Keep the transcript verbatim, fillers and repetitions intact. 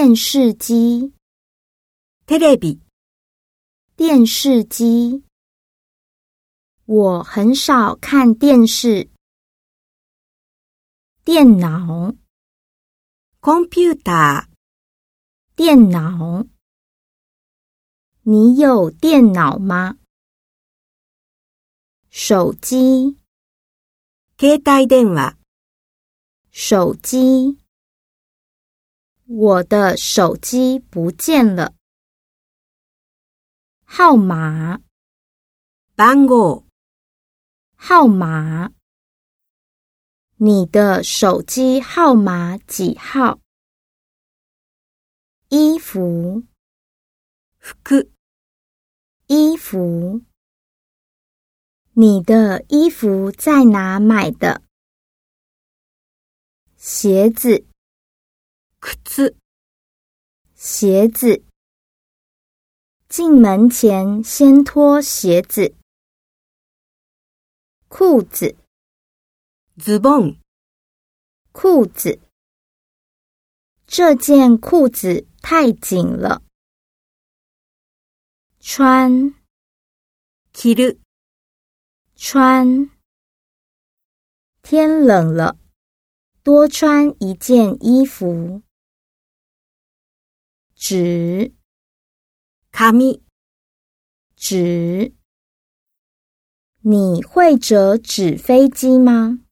电视机。 テレビ。 电视机。我很少看电视。电脑。 コンピューター。 电脑。你有电脑吗？手机。 携帯電話。 手机。我的手机不见了。号码。 番号。 号码。你的手机号码几号？衣服。 服。 衣服。你的衣服在哪买的？鞋子。 靴。 鞋子。进门前先脱鞋子。裤子。 ズボン。 裤子。这件裤子太紧了。穿。 着る。 穿。天冷了，多穿一件衣服。纸。 紙。 纸。你会折纸飞机吗？